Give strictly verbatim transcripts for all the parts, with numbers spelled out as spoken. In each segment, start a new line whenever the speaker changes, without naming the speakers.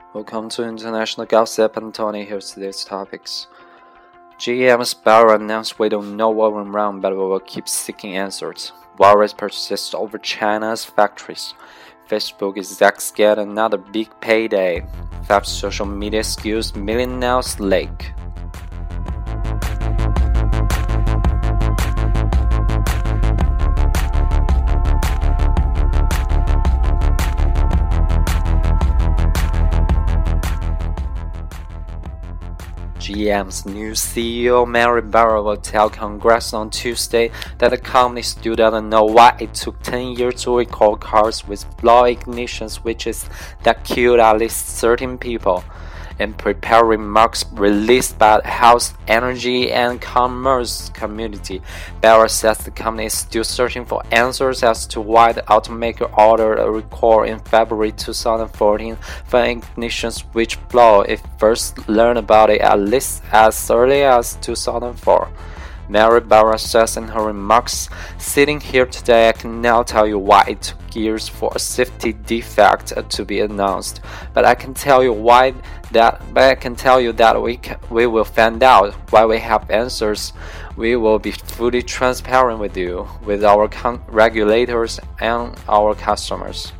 Welcome to International Gossip and Tony. Here's today's topics. G M's Barra announced we don't know what went wrong, but we will keep seeking answers. Virus persists over China's factories. Facebook execs get another big payday. Theft social media skews millionaires' lake. G M's new C E O Mary Barra will tell Congress on Tuesday that the company still doesn't know why it took ten years to recall cars with flawed ignition switches that killed at least thirteen people. In prepared remarks released by the House Energy and Commerce Committee, Barra says the company is still searching for answers as to why the automaker ordered a recall in February twenty fourteen for an ignition switch flaw. It first learned about it at least as early as two thousand four. Mary Barra says in her remarks, "Sitting here today, I can now tell you why it took years for a safety defect to be announced. But I can tell you why that. But I can tell you that we can, we will find out why we have answers. We will be fully transparent with you, with our con- regulators and our customers."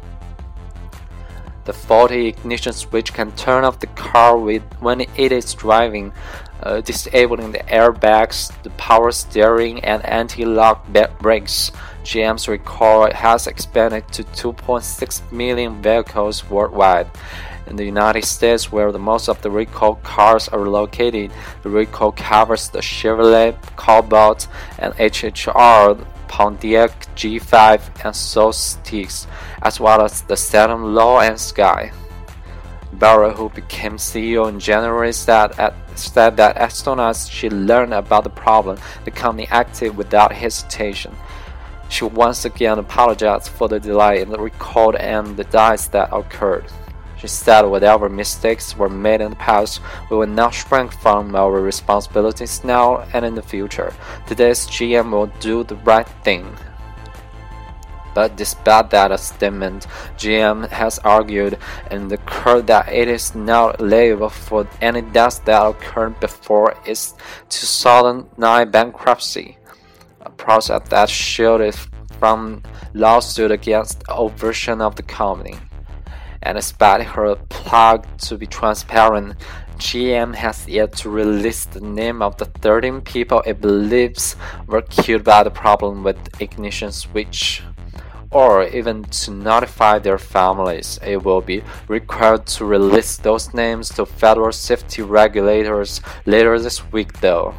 The faulty ignition switch can turn off the car with, when it is driving, uh, disabling the airbags, the power steering, and anti-lock brakes. G M's recall has expanded to two point six million vehicles worldwide. In the United States, where the most of the recall cars are located, the recall covers the Chevrolet Cobalt and H H R Pontiac G five and Solstice, as well as the Saturn Law and Sky. Barra, who became C E O in January, said, at, said that as soon as she learned about the problem, the company acted without hesitation. She once again apologized for the delay in the recall and the delays that occurred. She said whatever mistakes were made in the past, we will not shrink from our responsibilities now and in the future. Today's G M will do the right thing. But despite that statement, G M has argued in the court that it is not liable for any deaths that occurred before its two thousand nine bankruptcy, a process that shielded from lawsuit against the version of the company. And despite her plug to be transparent, G M has yet to release the name of the thirteen people it believes were killed by the problem with the ignition switch, or even to notify their families. It will be required to release those names to federal safety regulators later this week, though.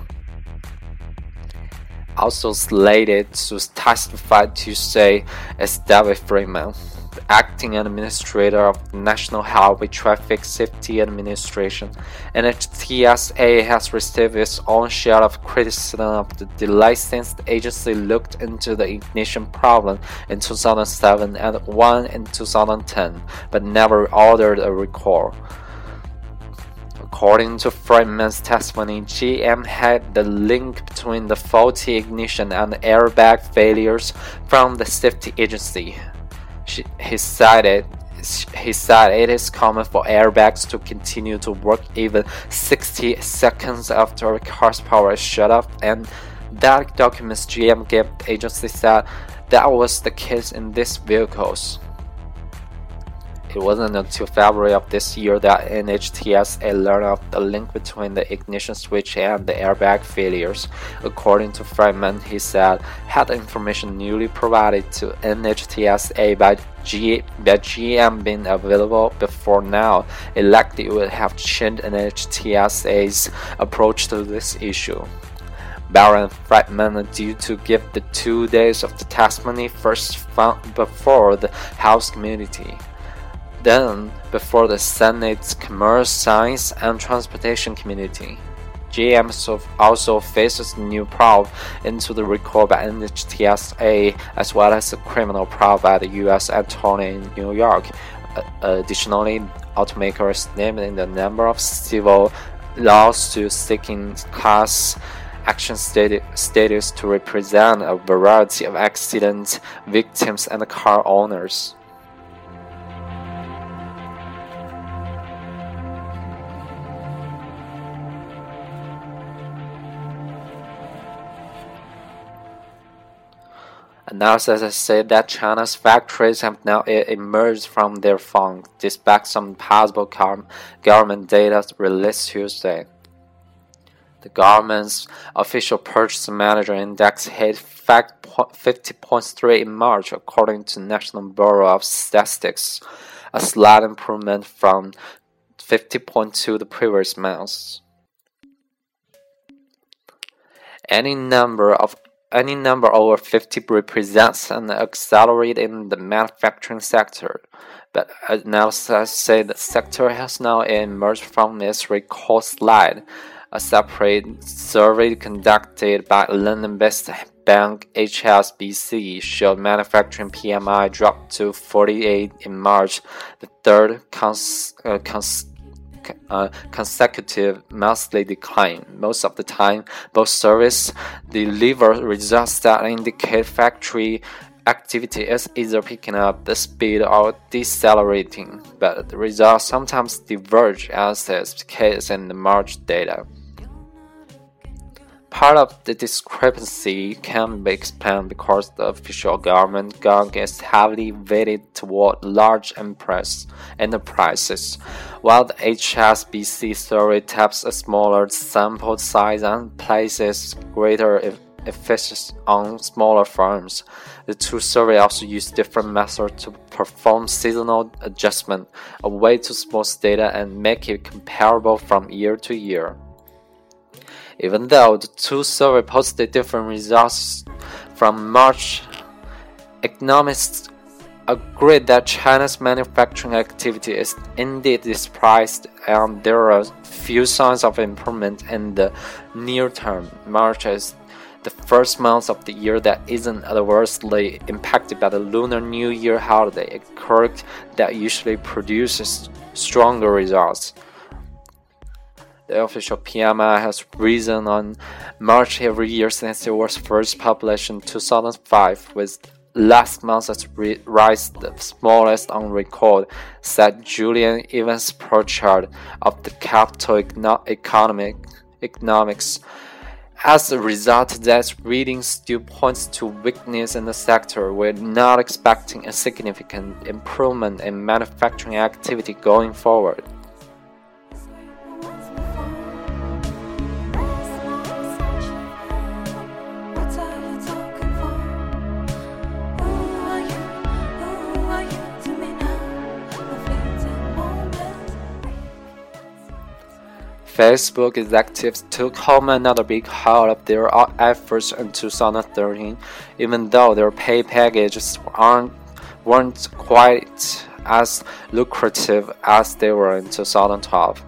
Also slated to testify Tuesday is David Freeman, the acting administrator of the National Highway Traffic Safety Administration. N H T S A has received its own share of criticism of the delay since the agency looked into the ignition problem in two thousand seven and one in two thousand ten, but never ordered a recall. According to Freeman's testimony, G M had the link between the faulty ignition and the airbag failures from the safety agency. She, he, cited, he said it is common for airbags to continue to work even sixty seconds after a car's power is shut off, and that documents G M gave the agency said that was the case in these vehicles. It wasn't until February of this year that N H T S A learned of the link between the ignition switch and the airbag failures. According to Freeman, he said, had the information newly provided to N H T S A by, G, by G M been available before now, it likely would have changed N H T S A's approach to this issue. Barra and Freeman are due to give the two days of the testimony first found before the House Committee, then before the Senate's Commerce, Science, and Transportation Committee. G M also faces a new probe into the recall by N H T S A, as well as a criminal probe by the U S Attorney in New York. Uh, additionally, automaker is named in the number of civil lawsuits seeking class action status to represent a variety of accident victims and car owners. Analysis say that China's factories have now emerged from their funk, despite some possible government data released Tuesday. The government's official Purchasing Manager Index hit fifty point three in March, according to National Bureau of Statistics, a slight improvement from fifty point two the previous month. Any number of Any number over fifty represents an acceleration in the manufacturing sector, but analysts say the sector has now emerged from its record slide. A separate survey conducted by London-based bank H S B C showed manufacturing P M I dropped to forty-eight in March, the third cons uh, cons Uh, consecutive monthly decline. Most of the time, both surveys deliver results that indicate factory activity is either picking up the speed or decelerating, but the results sometimes diverge, as is the case in the March data. Part of the discrepancy can be explained because the official government gang is heavily weighted toward large enterprises, while the H S B C survey taps a smaller sample size and places greater emphasis on smaller firms. The two surveys also use different methods to perform seasonal adjustment, a way to smooth data and make it comparable from year to year. Even though the two surveys posted different results from March, economists agree that China's manufacturing activity is indeed depressed and there are few signs of improvement in the near term. March is the first month of the year that isn't adversely impacted by the Lunar New Year holiday, a quirk that usually produces stronger results. The official P M I has risen on March every year since it was first published in two thousand five, with last month's rise the smallest on record, said Julian Evans Pritchard of the Capital Economic, Economics. As a result, that reading still points to weakness in the sector. We're not expecting a significant improvement in manufacturing activity going forward. Facebook executives took home another big haul of their efforts in two thousand thirteen, even though their pay packages aren't, weren't quite as lucrative as they were in two thousand twelve.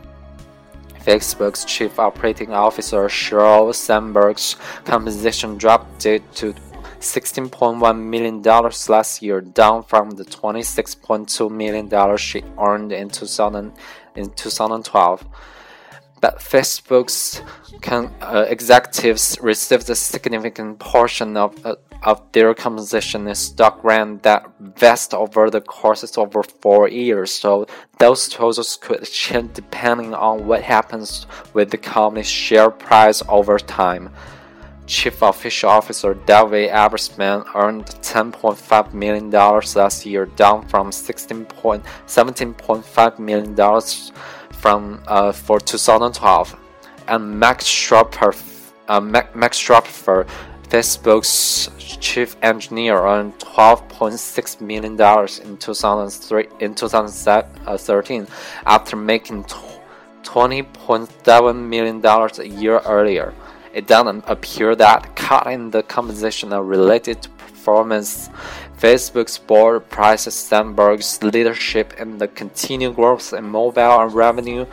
Facebook's chief operating officer Sheryl Sandberg's compensation dropped to sixteen point one million dollars last year, down from the twenty-six point two million dollars she earned in, two thousand, in twenty twelve. But Facebook's con, uh, executives received a significant portion of, uh, of their compensation in stock grant that vest over the course of over four years, so those totals could change depending on what happens with the company's share price over time. Chief Official Officer David Ebersman earned ten point five million dollars last year, down from seventeen point five million dollars from uh, for two thousand twelve, and Max Schroepfer, uh, Max Schroepfer, Facebook's chief engineer, earned twelve point six million dollars in two thousand three in twenty thirteen, after making twenty point seven million dollars a year earlier. It doesn't appear that cuts in the compensation are related to performance. Facebook's board praises Sandberg's leadership in the continued growth in mobile revenue,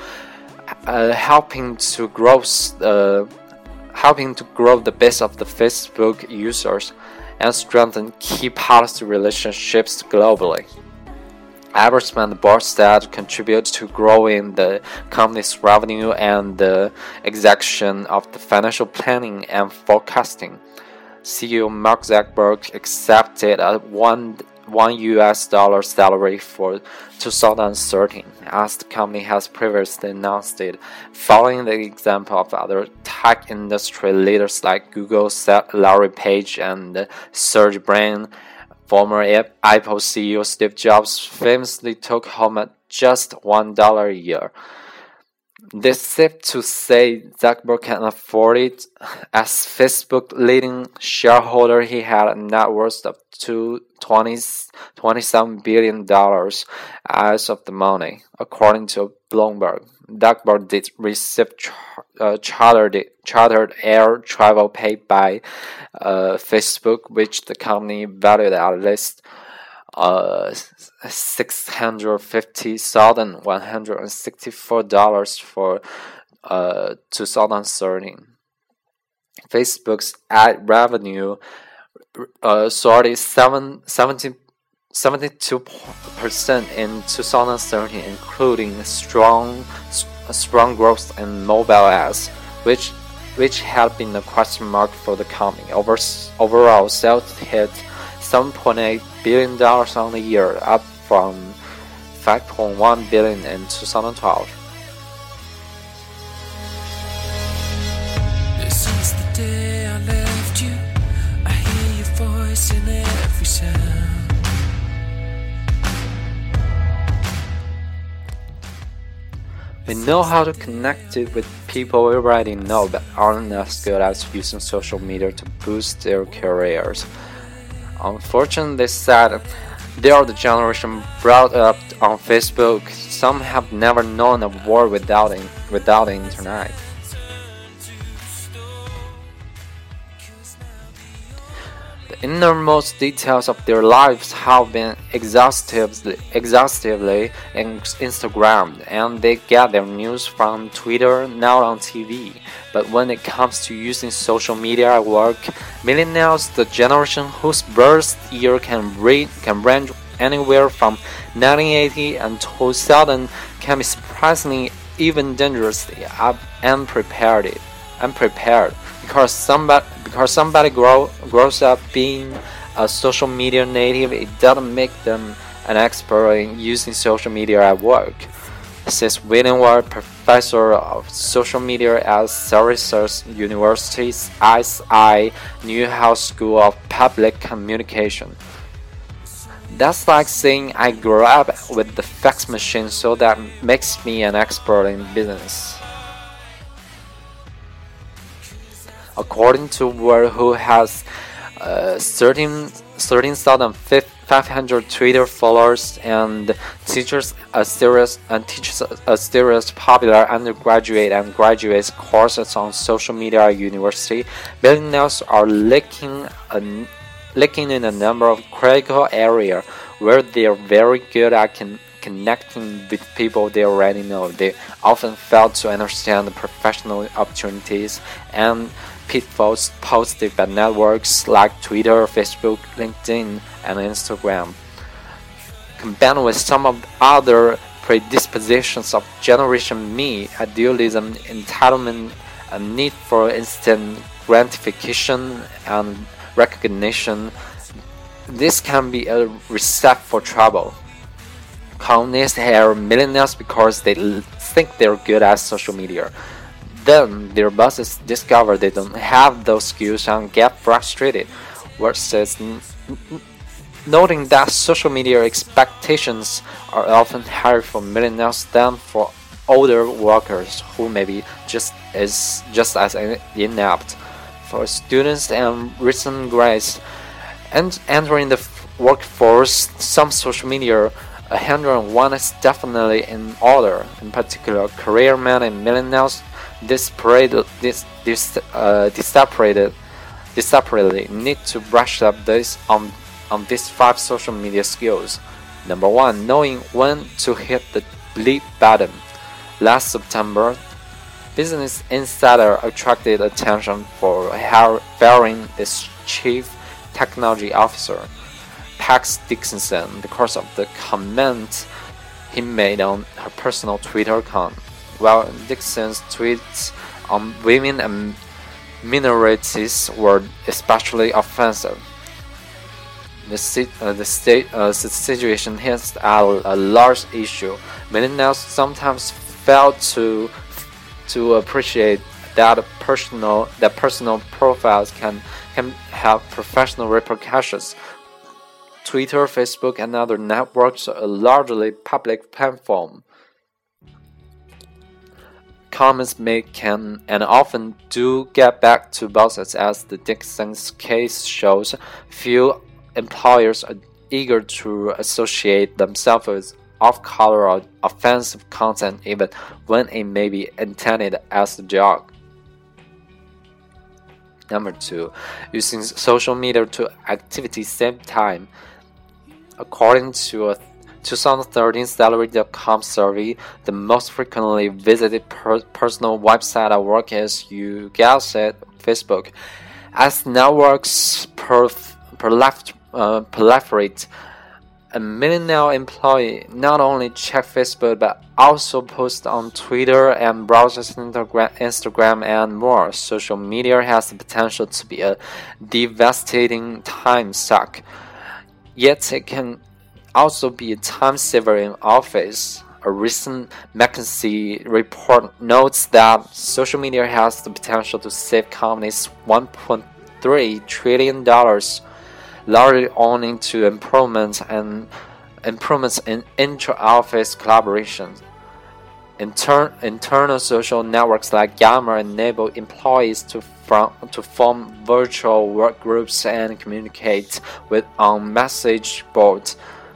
uh, helping to grow, uh, helping to grow the base of the Facebook users and strengthen key policy relationships globally. Ebersman, the board said, contribute to growing the company's revenue and the execution of the financial planning and forecasting. C E O Mark Zuckerberg accepted a one one U S dollar salary for two thousand thirteen, as the company has previously announced it, following the example of other tech industry leaders like Google, Larry Page, and Sergey Brin. Former Apple C E O Steve Jobs famously took home at just one dollar a year. This is safe to say Zuckerberg can afford it. As Facebook leading shareholder, he had a net worth of twenty-seven billion dollars as of the money, according to Bloomberg. Zuckerberg did receive char- uh, chartered, chartered air travel paid by uh, Facebook, which the company valued at least uh, six hundred fifty thousand one hundred sixty-four dollars for uh, two thousand thirteen. Facebook's ad revenue uh, soared seventy-two percent in two thousand thirteen, including strong strong growth in mobile ads, which which had been a question mark for the company. Over, overall, sales hit seven point eight billion dollars on the year, up from five point one billion dollars in two thousand twelve.
This is the day I left you. I hear your voice in every sound.
We know how to connect it with people we already know but aren't as good at using social media to boost their careers. Unfortunately, sad, they are the generation brought up on Facebook. Some have never known a world without it, without the internet. The innermost details of their lives have been exhaustively, exhaustively Instagrammed, and they get their news from Twitter, now on T V. But when it comes to using social media at work, millennials, the generation whose birth year can, read, can range anywhere from nineteen eighty and two thousand, can be surprisingly, even dangerously unprepared. unprepared. Because somebody, because somebody grow, grows up being a social media native, it doesn't make them an expert in using social media at work. Says William Ward, professor of social media at Syracuse University's S I Newhouse School of Public Communication. That's like saying I grew up with the fax machine, so that makes me an expert in business. According to Ward, who has uh, thirteen thousand five hundred Twitter followers and teaches a series and teaches a series popular undergraduate and graduate courses on social media at university, millennials are lacking a, lacking in a number of critical areas where they are very good at con connecting with people they already know. They often fail to understand the professional opportunities and pitfalls posted by networks like Twitter, Facebook, LinkedIn, and Instagram. Combined with some of the other predispositions of Generation Me, idealism, entitlement, a need for instant gratification and recognition, this can be a recipe for trouble. Colonists hire millennials because they think they're good at social media. Then their bosses discover they don't have those skills and get frustrated, versus noting that social media expectations are often higher for millennials than for older workers who may be just as just as inept. For students and recent grads and entering the workforce, some social media one hundred one is definitely in order. In particular, career men and millennials this this this uh separated this separately need to brush up this on on these five social media skills. Number one, knowing when to hit the delete button. Last September, Business Insider attracted attention for firing its chief technology officer, Pax Dixon, because of the comment he made on her personal Twitter account. While Dixon's tweets on women and minorities were especially offensive, The, si uh, the, state, uh, the situation hints at a large issue. Millennials sometimes fail to to appreciate that personal that personal profiles can can have professional repercussions. Twitter, Facebook, and other networks are largely public platforms. Comments made can and often do get back to bosses, as the Dixon's case shows. Few employers are eager to associate themselves with off-color or offensive content, even when it may be intended as a joke. Number two, using social media to activity save time. According to a twenty thirteen Salary dot com survey, the most frequently visited per personal website at work is, you guessed it, Facebook. As networks perf proliferate, uh, proliferate, a millennial employee not only check Facebook but also post on Twitter and browses Instagram and more. Social media has the potential to be a devastating time suck, yet it can also be a time saver in office. A recent McKinsey report notes that social media has the potential to save companies one point three trillion dollars, largely owing to improvements and improvements in intra-office collaboration. Inter internal social networks like Yammer enable employees to, from, to form virtual work groups and communicate with on message boards.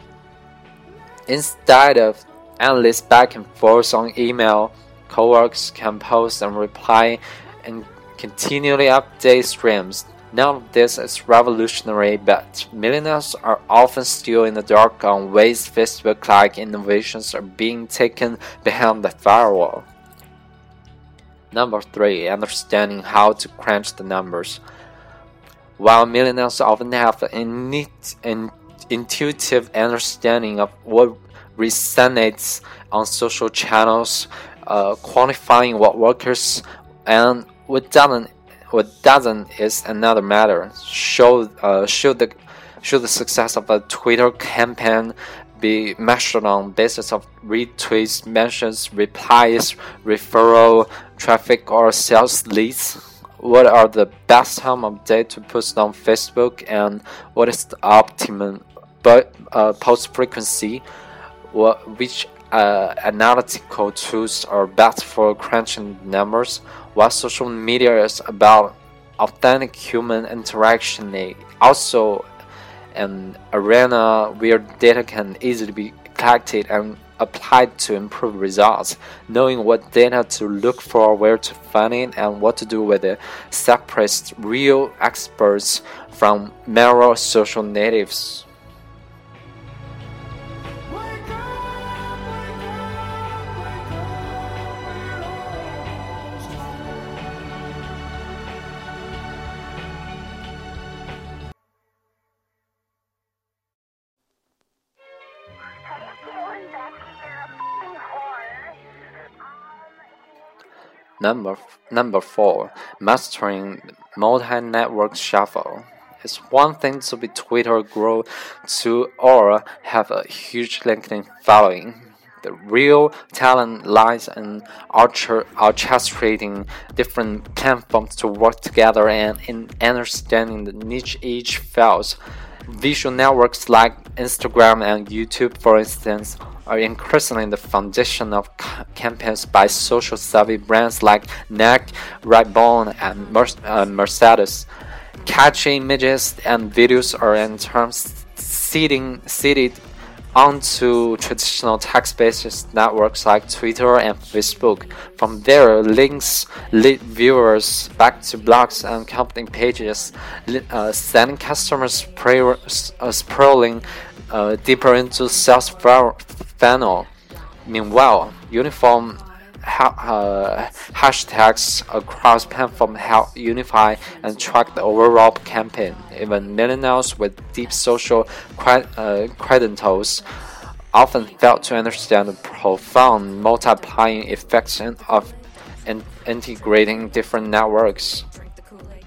Instead of endless back and forth on email, coworkers can post and reply and continually update streams. None of this is revolutionary, but millennials are often still in the dark on ways Facebook-like innovations are being taken behind the firewall. Number three, understanding how to crunch the numbers. While millennials often have an intuitive understanding of what resonates on social channels, uh, quantifying what works and what doesn't, what doesn't is another matter. Should, uh, should the should the success of a Twitter campaign be measured on basis of retweets, mentions, replies, referral, traffic, or sales leads? What are the best time of day to post on Facebook, and what is the optimum but uh, post frequency? What, which uh, analytical tools are best for crunching numbers? While social media is about authentic human interaction, it also an arena where data can easily be collected and applied to improve results. Knowing what data to look for, where to find it, and what to do with it separates real experts from mere social natives. Number, number four, mastering multi-network shuffle. It's one thing to be Twitter grow to or have a huge LinkedIn following. The real talent lies in orchestrating different platforms to work together and in understanding the niche each fills. Visual networks like Instagram and YouTube, for instance, are increasingly the foundation of campaigns by social-savvy brands like Nike, Ray-Ban, and uh, Mercedes. Catchy images and videos are in turn seeding, seeded onto traditional text-based networks like Twitter and Facebook. From there, links lead viewers back to blogs and company pages, uh, sending customers spray, uh, scrolling uh, deeper into sales funnel. Meanwhile, uniform ha uh, hashtags across platforms help unify and track the overall campaign. Even millennials with deep social cred uh, credentials often fail to understand the profound multiplying effects of in integrating different networks.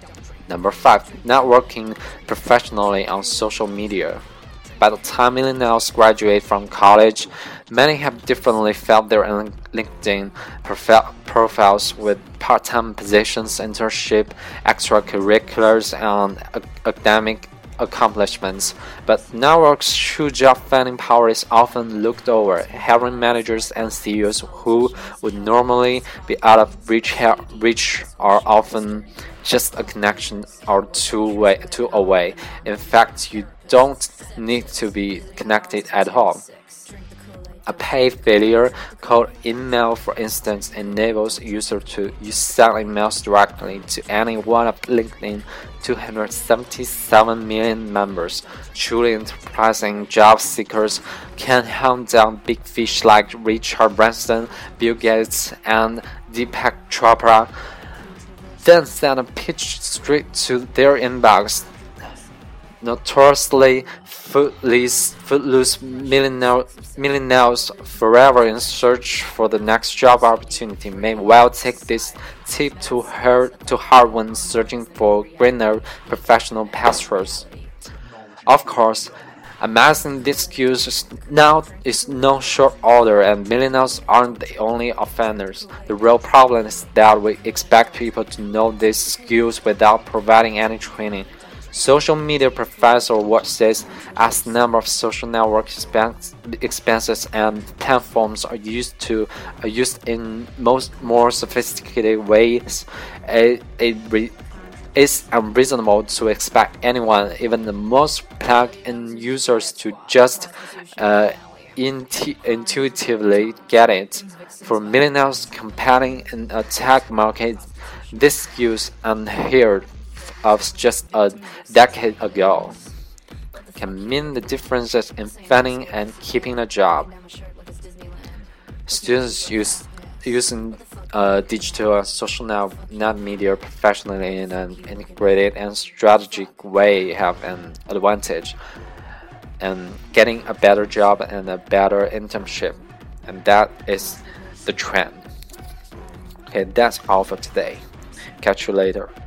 Number five, networking professionally on social media. By the time millennials graduate from college, many have differently filled their LinkedIn profiles with part-time positions, internship, extracurriculars, and academic accomplishments. But networks' true job-finding power is often looked over. Hiring managers and C E Os who would normally be out of reach, reach are often just a connection or two, way, two away. In fact, you don't need to be connected at all. A pay failure called email, for instance, enables users to send emails directly to any one of LinkedIn's two hundred seventy-seven million members. Truly enterprising job seekers can hunt down big fish like Richard Branson, Bill Gates, and Deepak Chopra, then send a pitch straight to their inbox. Notoriously footloose, footloose millennials forever in search for the next job opportunity may well take this tip to her to heart when searching for greener professional pastures. Of course, amassing these skills is now is no short order, and millennials aren't the only offenders. The real problem is that we expect people to know these skills without providing any training. Social media professor Ward says, as the number of social network expenses and platforms are used to are used in most more sophisticated ways, it, it re, it's unreasonable to expect anyone, even the most plugged-in users, to just uh, intu intuitively get it. For millennials competing in a tech market, these skills unheard of just a decade ago can mean the differences in finding and keeping a job. Students use using uh, digital and social net, net media professionally in an integrated and strategic way have an advantage in getting a better job and a better internship, and that is the trend. Okay, that's all for today. Catch you later.